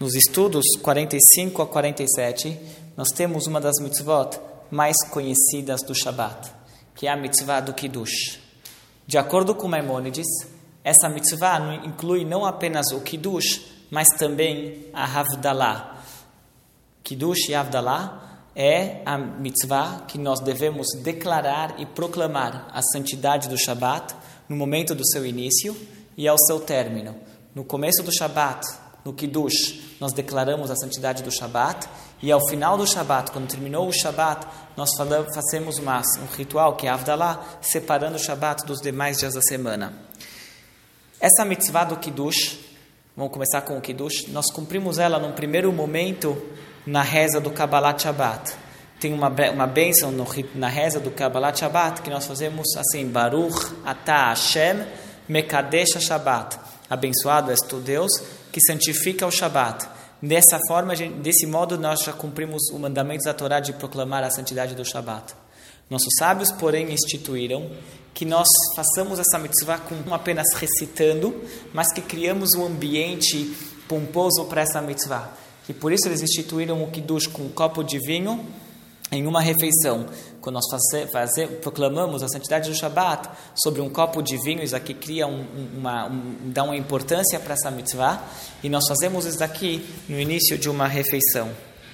Nos estudos 45 a 47, nós temos uma das mitzvot mais conhecidas do Shabat, que é a mitzvah do Kiddush. De acordo com Maimônides, essa mitzvah inclui não apenas o Kiddush, mas também a Havdalah. Kiddush e Havdalah é a mitzvah que nós devemos declarar e proclamar a santidade do Shabat no momento do seu início e ao seu término. No começo do Shabat, no Kiddush, nós declaramos a santidade do Shabat, e ao final do Shabat, quando terminou o Shabat, nós fazemos um ritual que é a Havdalah, separando o Shabat dos demais dias da semana. Essa mitzvah do Kiddush, vamos começar com o Kiddush, nós cumprimos ela num primeiro momento na reza do Kabbalat Shabbat. Tem uma bênção na reza do Kabbalat Shabbat que nós fazemos assim: Baruch Atah Hashem Mekadesh Shabbat. Abençoado és tu, Deus, que santifica o Shabat. Desse modo, nós já cumprimos o mandamento da Torá de proclamar a santidade do Shabat. Nossos sábios, porém, instituíram que nós façamos essa mitzvah não apenas recitando, mas que criamos um ambiente pomposo para essa mitzvah. E por isso eles instituíram o Kiddush com um copo de vinho em uma refeição. Quando nós proclamamos a santidade do Shabat sobre um copo de vinho, isso aqui cria dá uma importância para essa mitzvah, e nós fazemos isso daqui no início de uma refeição.